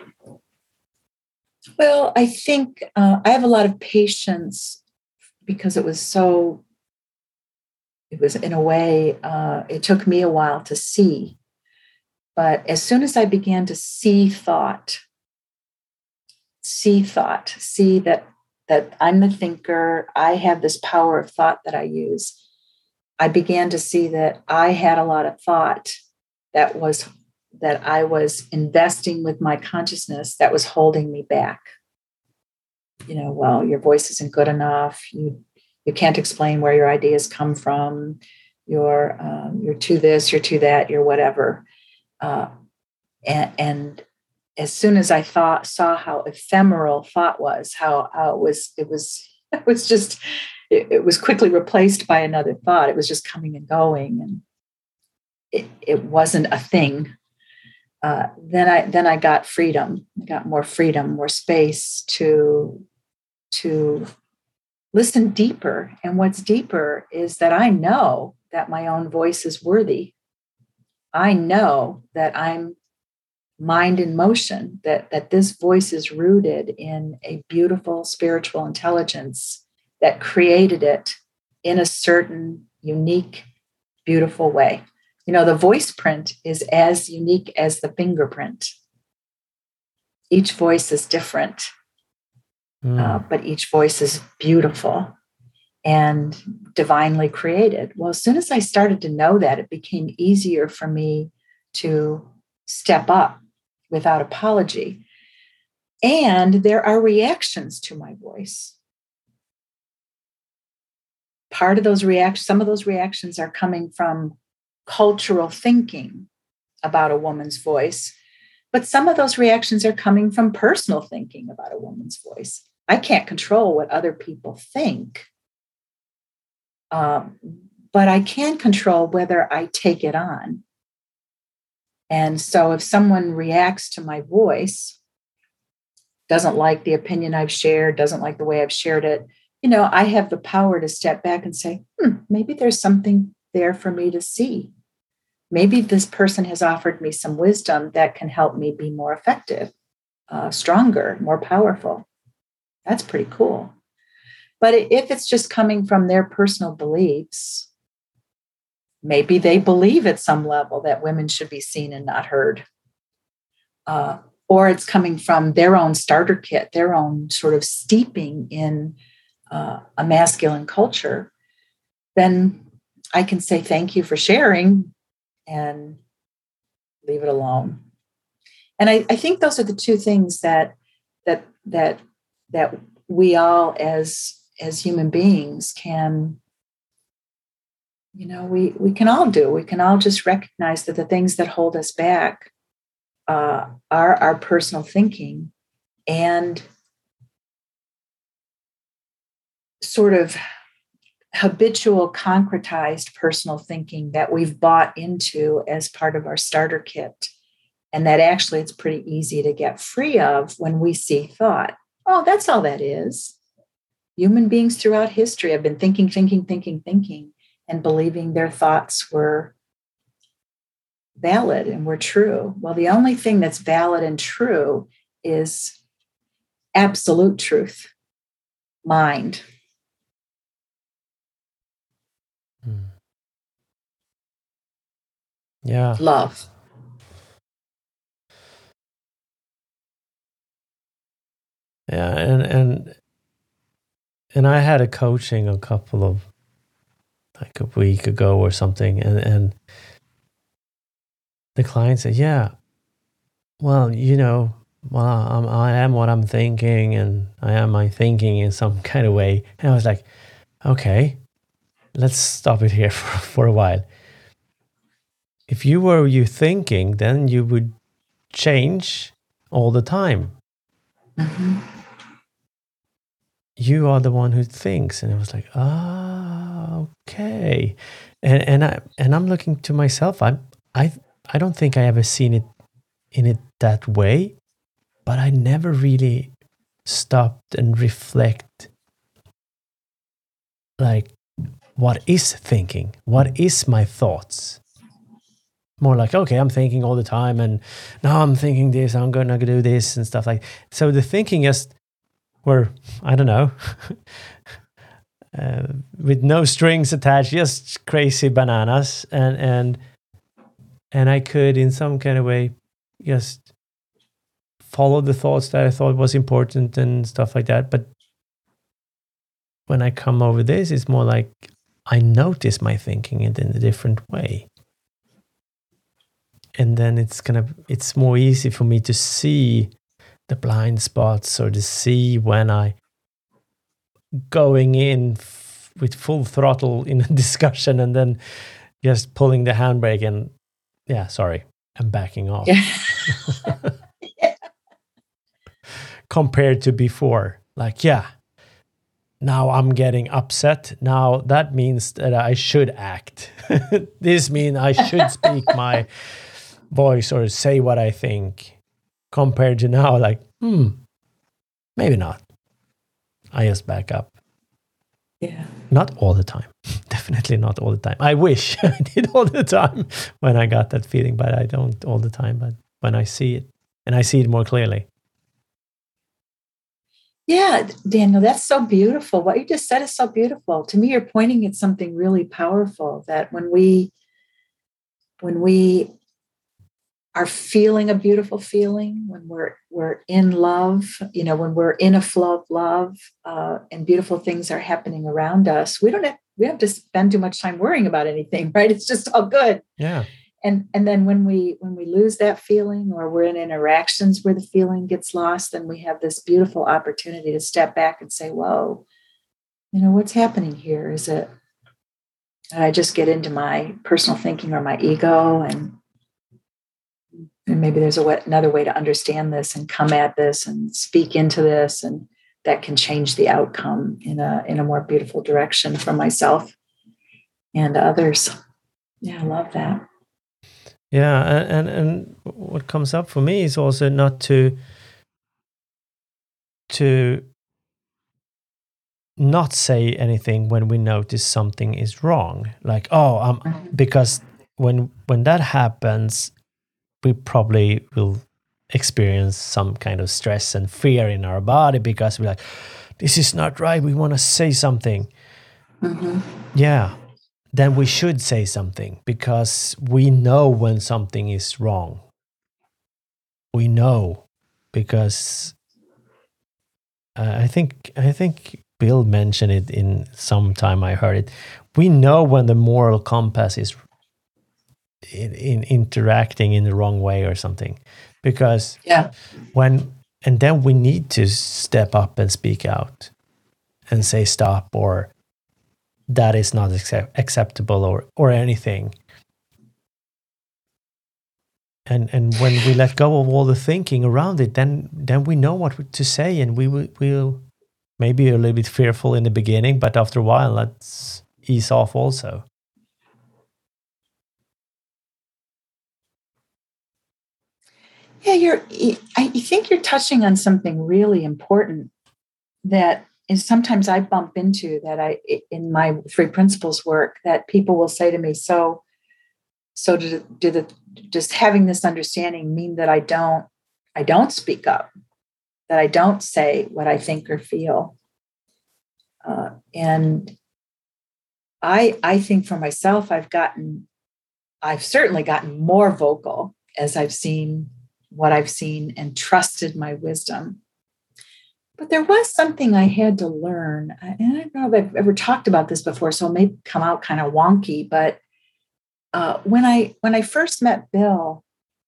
[SPEAKER 1] Well, I think uh, I have a lot of patience because it was so, it was in a way, uh, it took me a while to see. But as soon as I began to see thought, see thought, see that that I'm the thinker, I have this power of thought that I use, I began to see that I had a lot of thought that was that I was investing with my consciousness that was holding me back. You know, well, your voice isn't good enough. You you can't explain where your ideas come from. You're um, you're to this, you're to that, you're whatever. Uh, and, and as soon as I thought saw how ephemeral thought was, how, how it was, it was, it was just, it, it was quickly replaced by another thought. It was just coming and going, and it, it wasn't a thing. Uh, then I then I got freedom. I got more freedom, more space to to listen deeper. And what's deeper is that I know that my own voice is worthy. I know that I'm mind in motion, that, that this voice is rooted in a beautiful spiritual intelligence that created it in a certain unique, beautiful way. You know, the voice print is as unique as the fingerprint. Each voice is different,
[SPEAKER 2] Mm.
[SPEAKER 1] uh, but each voice is beautiful and divinely created. Well, as soon as I started to know that, it became easier for me to step up without apology. And there are reactions to my voice. Part of those reactions, some of those reactions are coming from cultural thinking about a woman's voice, but some of those reactions are coming from personal thinking about a woman's voice. I can't control what other people think, um, but I can control whether I take it on. And so if someone reacts to my voice, doesn't like the opinion I've shared, doesn't like the way I've shared it, you know, I have the power to step back and say, hmm, maybe there's something there for me to see. Maybe this person has offered me some wisdom that can help me be more effective, uh, stronger, more powerful. That's pretty cool. But if it's just coming from their personal beliefs, maybe they believe at some level that women should be seen and not heard. Uh, or it's coming from their own starter kit, their own sort of steeping in uh, a masculine culture, then I can say thank you for sharing and leave it alone. And I, I think those are the two things that that that that we all as as human beings can, you know, we we can all do. We can all just recognize that the things that hold us back uh, are our personal thinking and sort of habitual, concretized personal thinking that we've bought into as part of our starter kit. And that actually it's pretty easy to get free of when we see thought. Oh, that's all that is. Human beings throughout history have been thinking, thinking, thinking, thinking, and believing their thoughts were valid and were true. Well, the only thing that's valid and true is absolute truth, mind.
[SPEAKER 2] Hmm. Yeah.
[SPEAKER 1] Love.
[SPEAKER 2] Yeah, and and and I had a coaching a couple of like a week ago or something, and and the client said, "Yeah, well, you know, well, I'm, I am what I'm thinking, and I am my thinking in some kind of way." And I was like, "Okay, let's stop it here for for a while. If you were you thinking, then you would change all the time."
[SPEAKER 1] Mm-hmm.
[SPEAKER 2] You are the one who thinks. And it was like, ah, okay. And and I and I'm looking to myself. I'm I I don't think I ever seen it in it that way, but I never really stopped and reflect like what is thinking? What is my thoughts? More like, okay, I'm thinking all the time, and now I'm thinking this, I'm gonna do this and stuff like. So the thinking just were, I don't know, uh, with no strings attached, just crazy bananas, and and and I could, in some kind of way, just follow the thoughts that I thought was important and stuff like that. But when I come over this, it's more like I notice my thinking in a different way. And then it's gonna, it's more easy for me to see the blind spots or to see when I going in f- with full throttle in a discussion and then just pulling the handbrake and yeah, sorry, I'm backing off.
[SPEAKER 1] Yeah. Yeah.
[SPEAKER 2] Compared to before, like, yeah, now I'm getting upset. Now that means that I should act. This means I should speak my voice or say what I think. Compared to now, like, hmm, maybe not. I just back up.
[SPEAKER 1] Yeah.
[SPEAKER 2] Not all the time. Definitely not all the time. I wish I did all the time when I got that feeling, but I don't all the time. But when I see it, and I see it more clearly.
[SPEAKER 1] Yeah, Daniel, that's so beautiful. What you just said is so beautiful. To me, you're pointing at something really powerful, that when we when we are feeling a beautiful feeling, when we're we're in love, you know, when we're in a flow of love, uh, and beautiful things are happening around us, we don't have we don't have to spend too much time worrying about anything, right? It's just all good.
[SPEAKER 2] Yeah.
[SPEAKER 1] And and then when we when we lose that feeling, or we're in interactions where the feeling gets lost, then we have this beautiful opportunity to step back and say, "Whoa, you know, what's happening here? Is it?" And I just get into my personal thinking or my ego, and and maybe there's a way, another way to understand this and come at this and speak into this, and that can change the outcome in a in a more beautiful direction for myself and others. Yeah, I love that.
[SPEAKER 2] Yeah, and, and and what comes up for me is also not to to not say anything when we notice something is wrong. Like, oh, um, because when when that happens, we probably will experience some kind of stress and fear in our body because we're like, this is not right. We want to say something.
[SPEAKER 1] Mm-hmm.
[SPEAKER 2] Yeah. then we should say something because we know when something is wrong. We know because uh, I think I think Bill mentioned it in some time I heard it. We know when the moral compass is in, in interacting in the wrong way or something, because
[SPEAKER 1] Yeah.
[SPEAKER 2] when and then we need to step up and speak out and say stop, or that is not accept- acceptable, or or anything. And and when we let go of all the thinking around it, then then we know what to say, and we will we'll maybe a little bit fearful in the beginning, but after a while, let's ease off also.
[SPEAKER 1] Yeah, you're. I think you're touching on something really important that is sometimes I bump into that I in my three principles work, that people will say to me, so so do, do the just having this understanding mean that I don't I don't speak up, that I don't say what I think or feel. Uh, and I I think for myself, I've gotten I've certainly gotten more vocal as I've seen what I've seen and trusted my wisdom. But there was something I had to learn. And I don't know if I've ever talked about this before, so it may come out kind of wonky. But uh, when I when I first met Bill,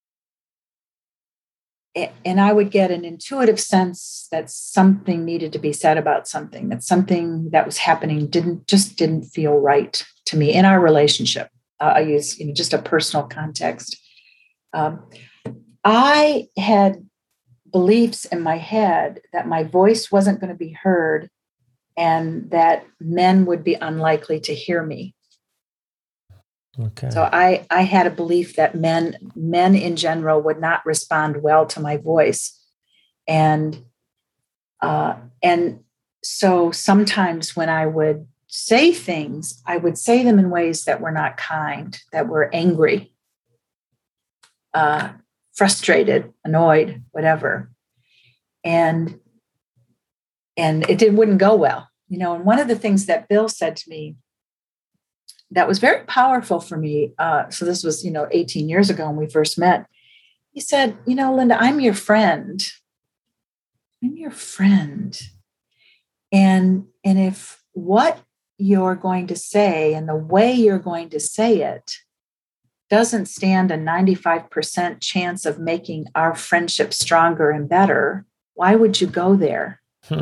[SPEAKER 1] and I would get an intuitive sense that something needed to be said about something, that something that was happening didn't just didn't feel right to me in our relationship. Uh, I use you know, just a personal context. Um, I had beliefs in my head that my voice wasn't going to be heard and that men would be unlikely to hear me.
[SPEAKER 2] Okay.
[SPEAKER 1] So I, I had a belief that men, men in general would not respond well to my voice. And, uh, and so sometimes when I would say things, I would say them in ways that were not kind, that were angry, uh, frustrated, annoyed, whatever. And, and it did, wouldn't go well. You know, and one of the things that Bill said to me that was very powerful for me. Uh, so this was, you know, eighteen years ago when we first met. He said, you know, Linda, I'm your friend. I'm your friend. And, and if what you're going to say and the way you're going to say it doesn't stand a ninety-five percent chance of making our friendship stronger and better, why would you go there?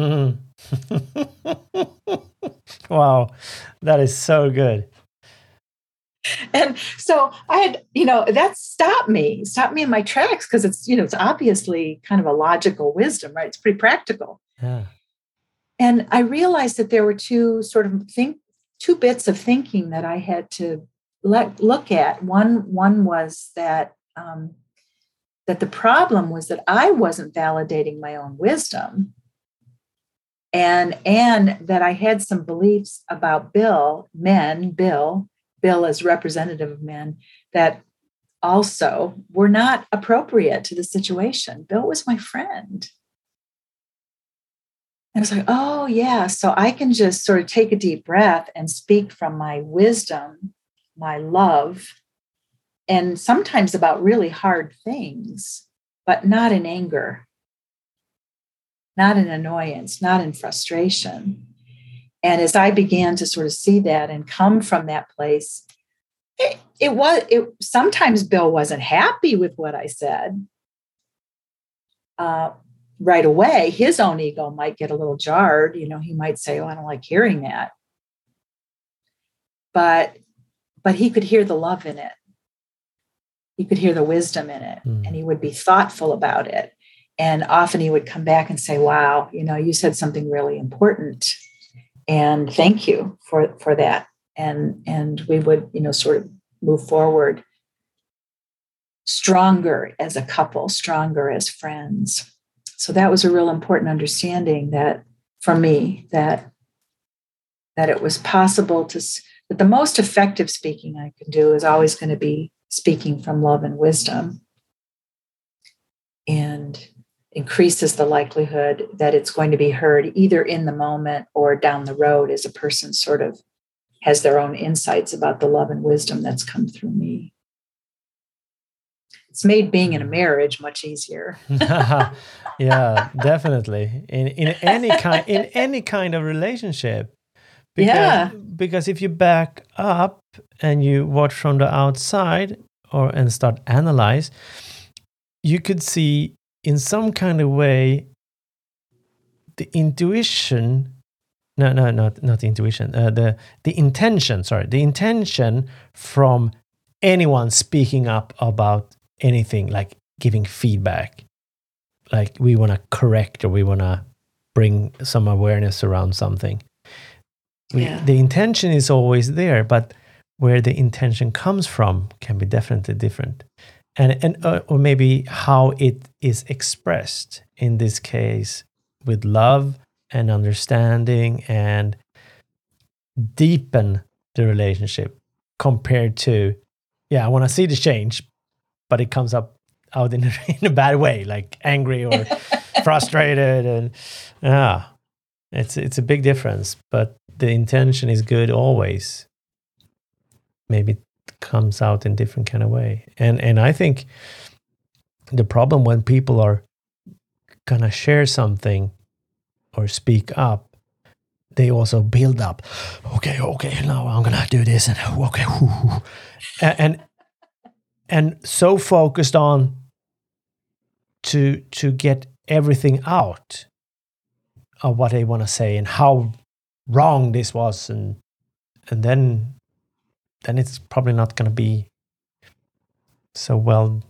[SPEAKER 2] Wow, that is so good.
[SPEAKER 1] And so I had, you know, that stopped me, stopped me in my tracks, because it's, you know, it's obviously kind of a logical wisdom, right? It's pretty practical.
[SPEAKER 2] Yeah.
[SPEAKER 1] And I realized that there were two sort of think, two bits of thinking that I had to let look at. One, one was that um, that the problem was that I wasn't validating my own wisdom, and and that I had some beliefs about Bill, men, Bill, Bill as representative of men, that also were not appropriate to the situation. Bill was my friend. And I was like, oh, yeah. So I can just sort of take a deep breath and speak from my wisdom, my love, and sometimes about really hard things, but not in anger, not in annoyance, not in frustration. And as I began to sort of see that and come from that place, it, it was, it, sometimes Bill wasn't happy with what I said. Uh, right away, his own ego might get a little jarred. You know, he might say, oh, I don't like hearing that. But, but he could hear the love in it. He could hear the wisdom in it, mm. and he would be thoughtful about it. And often he would come back and say, wow, you know, you said something really important, and thank you for, for that. And, and we would, you know, sort of move forward stronger as a couple, stronger as friends. So that was a real important understanding that for me, that, that it was possible to, that the most effective speaking I could do is always going to be speaking from love and wisdom, and increases the likelihood that it's going to be heard either in the moment or down the road as a person sort of has their own insights about the love and wisdom that's come through me. It's made being in a marriage much easier.
[SPEAKER 2] Yeah, definitely. In in any kind in any kind of relationship. Because,
[SPEAKER 1] yeah.
[SPEAKER 2] because if you back up and you watch from the outside or and start analyze, you could see in some kind of way the intuition, no, no, not not intuition, uh, the the intention, sorry, the intention from anyone speaking up about anything, like giving feedback, like we want to correct or we want to bring some awareness around something. We,
[SPEAKER 1] yeah.
[SPEAKER 2] The intention is always there, but where the intention comes from can be definitely different, and and uh, or maybe how it is expressed. In this case, with love and understanding and deepen the relationship compared to, yeah, I want to see the change, but it comes up out in a, in a bad way, like angry or frustrated, and yeah, it's it's a big difference. But the intention is good always. Maybe it comes out in different kind of way, and and I think the problem when people are gonna share something or speak up, they also build up. Okay, okay, now I'm gonna do this, and okay, whoo, whoo. and and, and so focused on to to get everything out of what they want to say and how wrong this was, and and then then it's probably not going to be so well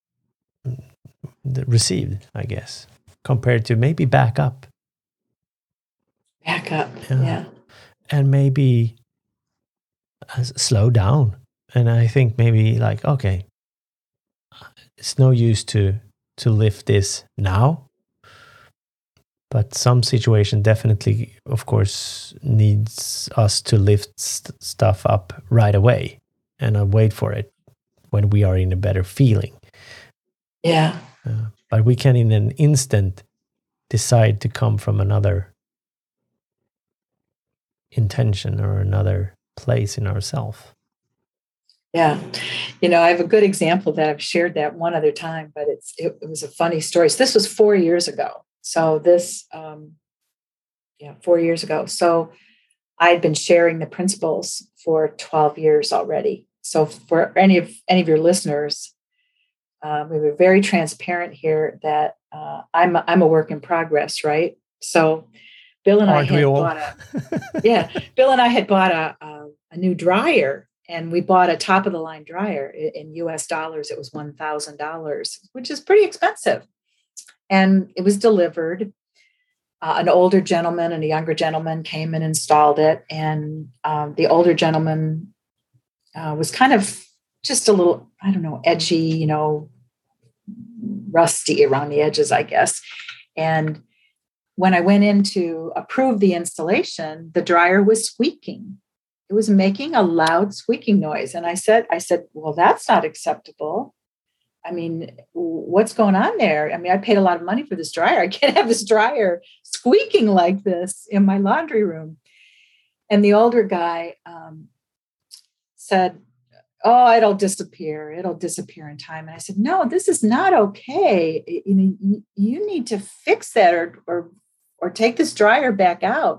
[SPEAKER 2] received, I guess, compared to maybe back up.
[SPEAKER 1] Back up, yeah. yeah.
[SPEAKER 2] And maybe uh, slow down. And I think maybe like, okay, it's no use to to lift this now. But some situation definitely, of course, needs us to lift st- stuff up right away and uh, wait for it when we are in a better feeling.
[SPEAKER 1] Yeah.
[SPEAKER 2] Uh, but we can, in an instant, decide to come from another intention or another place in ourselves.
[SPEAKER 1] Yeah. You know, I have a good example that I've shared that one other time, but it's it, it was a funny story. So this was four years ago. So this, um, yeah, four years ago. So I'd been sharing the principles for twelve years already. So for any of any of your listeners, um, we were very transparent here that uh, I'm a, I'm a work in progress, right? So Bill and
[SPEAKER 2] Aren't
[SPEAKER 1] I had
[SPEAKER 2] we all?
[SPEAKER 1] bought a yeah, Bill and I had bought a, a a new dryer, and we bought a top of the line dryer in U S dollars. It was one thousand dollars, which is pretty expensive, and it was delivered. Uh, an older gentleman and a younger gentleman came and installed it. And um, the older gentleman uh, was kind of just a little, I don't know, edgy, you know, rusty around the edges, I guess. And when I went in to approve the installation, the dryer was squeaking. It was making a loud squeaking noise. And I said, I said, well, that's not acceptable. I mean, what's going on there? I mean, I paid a lot of money for this dryer. I can't have this dryer squeaking like this in my laundry room. And the older guy um, said, oh, it'll disappear. It'll disappear in time. And I said, no, this is not okay. You know, you need to fix that or, or, or take this dryer back out.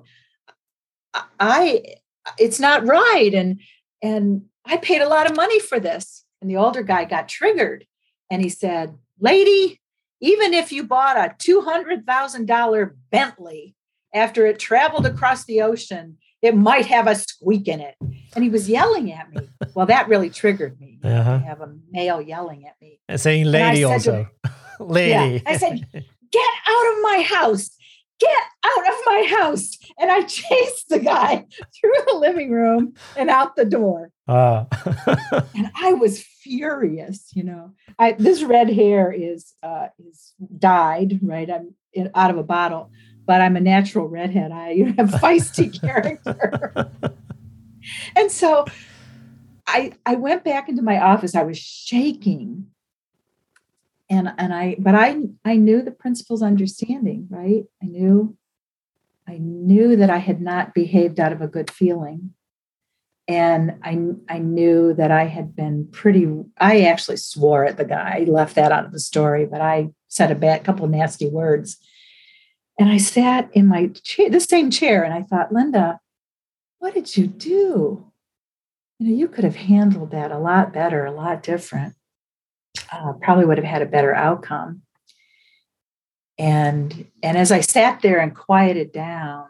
[SPEAKER 1] I, it's not right. And, and I paid a lot of money for this. And the older guy got triggered. And he said, lady, even if you bought a two hundred thousand dollars Bentley after it traveled across the ocean, it might have a squeak in it. And he was yelling at me. Well, that really triggered me. Uh-huh. To have a male yelling at me.
[SPEAKER 2] And saying lady and also. Him, lady.
[SPEAKER 1] Yeah, I said, get out of my house. Get out of my house. And I chased the guy through the living room and out the door.
[SPEAKER 2] Uh.
[SPEAKER 1] And I was furious, you know. I, this red hair is uh, is dyed, right? I'm in, out of a bottle, but I'm a natural redhead. I have feisty character. And so I I went back into my office. I was shaking. And and I but I I knew the principal's understanding, right? I knew I knew that I had not behaved out of a good feeling. And I, I knew that I had been pretty, I actually swore at the guy. I left that out of the story, but I said a bad couple of nasty words. And I sat in my chair, the same chair, and I thought, Linda, what did you do? You know, you could have handled that a lot better, a lot different. Uh, probably would have had a better outcome. And and as I sat there and quieted down,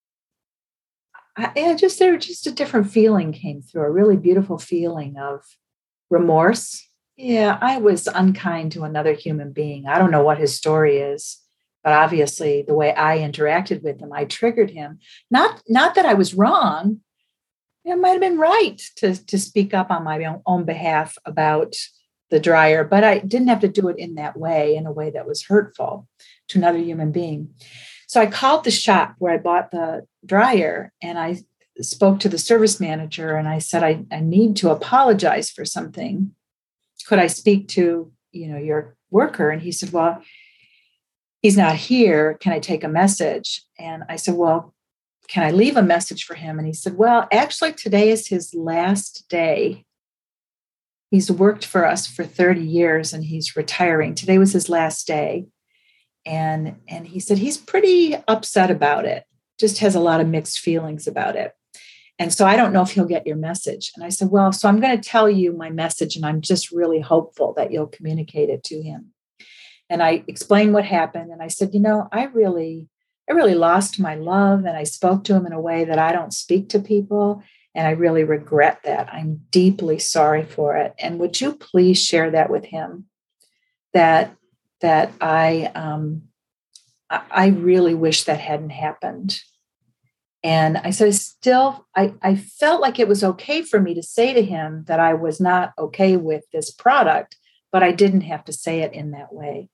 [SPEAKER 1] I, and just there, just a different feeling came through, a really beautiful feeling of remorse. Yeah, I was unkind to another human being. I don't know what his story is, but obviously the way I interacted with him, I triggered him. Not not that I was wrong. It might have been right to, to speak up on my own, own behalf about the dryer, but I didn't have to do it in that way, in a way that was hurtful to another human being. So I called the shop where I bought the dryer, and I spoke to the service manager, and I said, I, I need to apologize for something. Could I speak to, you know, your worker? And he said, well, he's not here. Can I take a message? And I said, well, can I leave a message for him? And he said, well, actually, today is his last day. He's worked for us for thirty years and he's retiring. Today was his last day. And, and he said, he's pretty upset about it, just has a lot of mixed feelings about it. And so I don't know if he'll get your message. And I said, well, so I'm going to tell you my message, and I'm just really hopeful that you'll communicate it to him. And I explained what happened. And I said, you know, I really, I really lost my love, and I spoke to him in a way that I don't speak to people. And I really regret that. I'm deeply sorry for it. And would you please share that with him? That that I um, I really wish that hadn't happened. And I said, still, I, I felt like it was okay for me to say to him that I was not okay with this product, but I didn't have to say it in that way.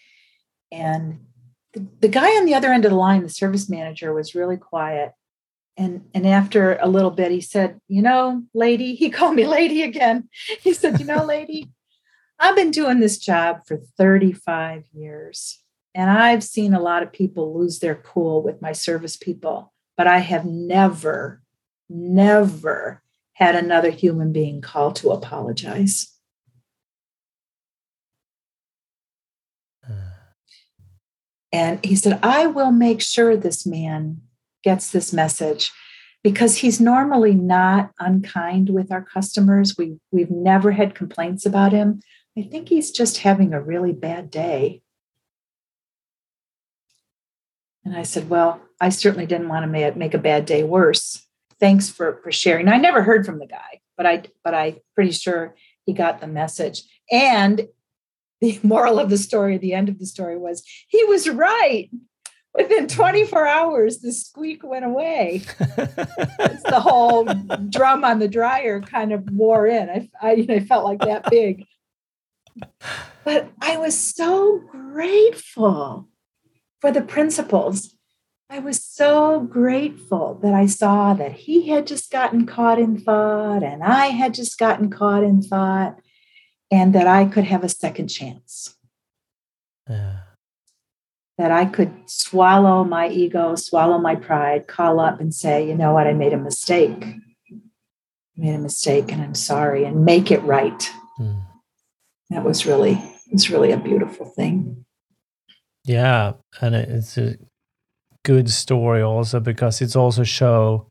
[SPEAKER 1] And the, the guy on the other end of the line, the service manager, was really quiet. And, and after a little bit, he said, you know, lady, he called me lady again. He said, you know, lady, I've been doing this job for thirty-five years, and I've seen a lot of people lose their cool with my service people, but I have never, never had another human being call to apologize. And he said, I will make sure this man gets this message, because he's normally not unkind with our customers. We, we've never had complaints about him. I think he's just having a really bad day. And I said, well, I certainly didn't want to make a bad day worse. Thanks for, for sharing. I never heard from the guy, but I, but I'm pretty sure he got the message. And the moral of the story, the end of the story was, he was right. Within twenty-four hours, the squeak went away. The whole drum on the dryer kind of wore in. I, I, you know, I felt like that big. But I was so grateful for the principles. I was so grateful that I saw that he had just gotten caught in thought, and I had just gotten caught in thought, and that I could have a second chance. Yeah. That I could swallow my ego, swallow my pride, call up and say, you know what, I made a mistake. I made a mistake and I'm sorry, and make it right. Mm. That was really, it's really a beautiful thing.
[SPEAKER 2] Yeah. And it's a good story also, because it's also show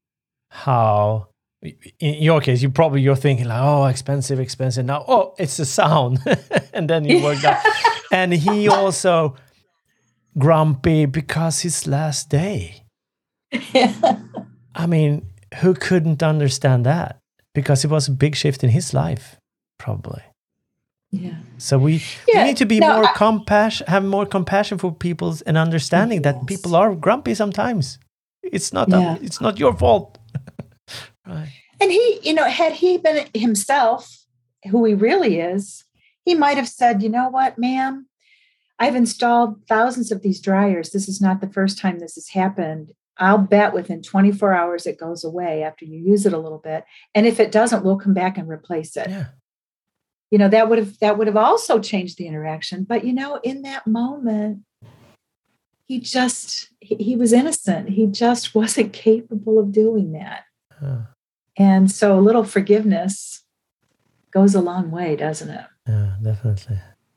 [SPEAKER 2] how, in your case, you probably, you're thinking like, oh, expensive, expensive. Now, oh, it's the sound. And then you worked out. And he also grumpy because his last day. Yeah. I mean, who couldn't understand that? Because it was a big shift in his life, probably.
[SPEAKER 1] Yeah.
[SPEAKER 2] So we,
[SPEAKER 1] yeah.
[SPEAKER 2] we need to be
[SPEAKER 1] no,
[SPEAKER 2] more
[SPEAKER 1] I,
[SPEAKER 2] compassion, have more compassion for people, and understanding yes. that people are grumpy sometimes. It's not yeah. a, it's not your fault. Right.
[SPEAKER 1] And he, you know, had he been himself, who he really is, he might have said, you know what, ma'am, I've installed thousands of these dryers. This is not the first time this has happened. I'll bet within twenty-four hours it goes away after you use it a little bit. And if it doesn't, we'll come back and replace it.
[SPEAKER 2] Yeah.
[SPEAKER 1] You know, that would have that would have also changed the interaction. But, you know, in that moment, he just, he, he was innocent. He just wasn't capable of doing that. Huh. And so a little forgiveness goes a long way, doesn't it?
[SPEAKER 2] Yeah, definitely.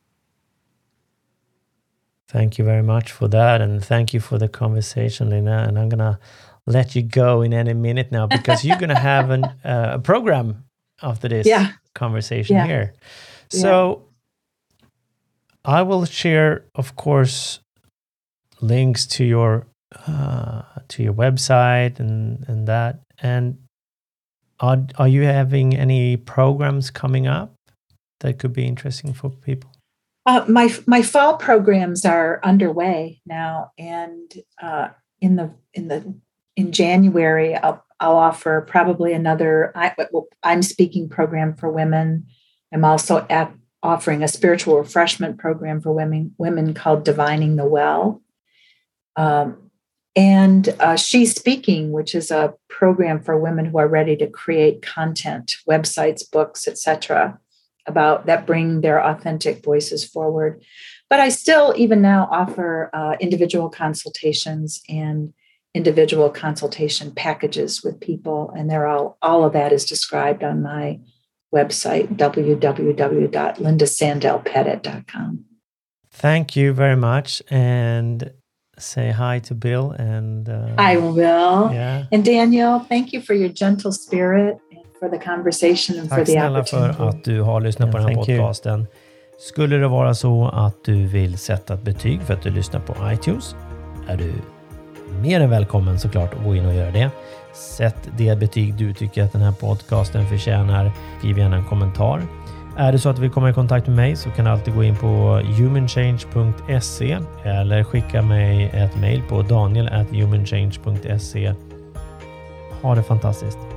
[SPEAKER 2] Thank you very much for that. And thank you for the conversation, Lina. And I'm going to let you go in any minute now because you're going to have an, uh, a program after this
[SPEAKER 1] yeah.
[SPEAKER 2] conversation
[SPEAKER 1] yeah.
[SPEAKER 2] here. So yeah. I will share, of course, links to your uh, to your website and, and that. And are, are you having any programs coming up that could be interesting for people?
[SPEAKER 1] Uh, my my fall programs are underway now, and uh, in the in the in January, I'll I'll offer probably another. I, I'm speaking program for women. I'm also at, offering a spiritual refreshment program for women women called Divining the Well, um, and uh, She's Speaking, which is a program for women who are ready to create content, websites, books, et cetera, about that bring their authentic voices forward. But I still, even now, offer uh, individual consultations and individual consultation packages with people. And they're all, all of that is described on my website, w w w dot linda sandell pettit dot com.
[SPEAKER 2] Thank you very much. And say hi to Bill. And uh,
[SPEAKER 1] I will.
[SPEAKER 2] Yeah.
[SPEAKER 1] And Daniel, thank you for your gentle spirit. For the conversation and
[SPEAKER 2] Tack
[SPEAKER 1] for the
[SPEAKER 2] snälla för att du har lyssnat yeah, på den här podcasten. You. Skulle det vara så att du vill sätta ett betyg för att du lyssnar på iTunes, är du mer än välkommen såklart att gå in och göra det. Sätt det betyg du tycker att den här podcasten förtjänar. Skriv gärna en kommentar. Är det så att du vill komma i kontakt med mig så kan du alltid gå in på humanchange punkt se eller skicka mig ett mejl på daniel at humanchange punkt se. Ha det fantastiskt.